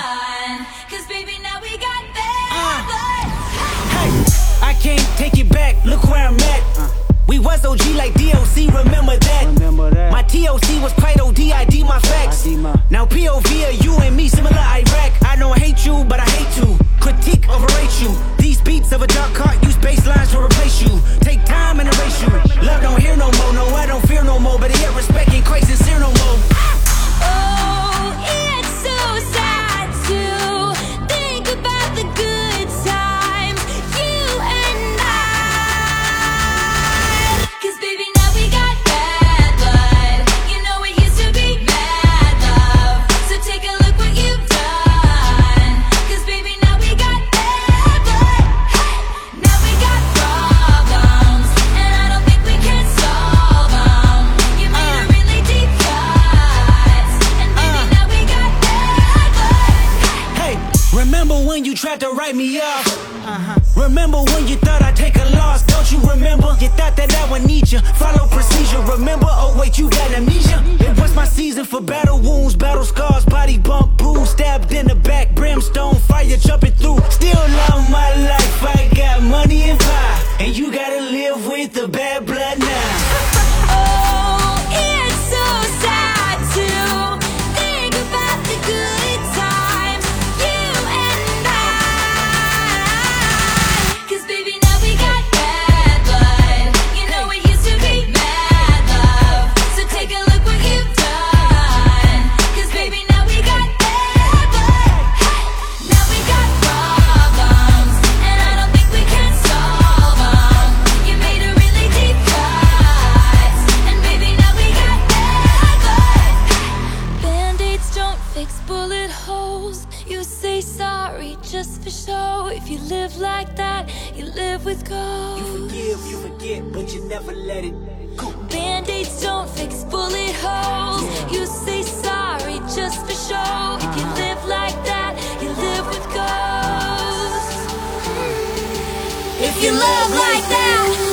done. Cause baby, now we got bad blood. Hey, I can't take it back, look where I'm at. We was OG like DOC, remember that. My TOC was quite OD, ID my facts. Now POV are you and me, similar Iraq. I don't hate you, but I hate to critique, overrate you. These beats of a dark heart use bass lines to replace you. Take time and erase you. Love don't hear no more, no, I don't fear no more. But yet respect ain't quite sincere no more. Oh, it's so sad to think about the good times, you and I. Cause baby, now we got bad blood. You know it used to be bad love. So take a look what you've done. Cause baby, now we got bad blood. Hey, now we got problems, and I don't think we can solve them. You made a really deep cut, and baby, now we got bad blood. Hey, remember when you tried to write me off? Remember when you thought I'd take a loss? Don't you remember? You thought that I would need you. Follow procedure, remember? Oh wait, you got amnesia. It was my season for battle wounds, battle scars, body bump, bruise, stabbed in the back, brimstone, fire jumping through. Still love my life, I got money and pie, and you gotta live with the bad blood now. Oh, it's so sad to think about the good times, you and I. Cause baby, now we got bad blood. You know it used to be bad love. So take a look what you've done. Cause baby, now we got bad blood. Hey, now we got problems, and I don't think we can solve them. You made a really deep cut, and baby, now we got bad blood. Band-aids don't fix bullet holes. You say sorry just for show. If you live like that, you live with ghosts. You forget, but you never let it go. Band-aids don't fix bullet holes. You say sorry just for show. If you live like that, you live with ghosts. If you love like that,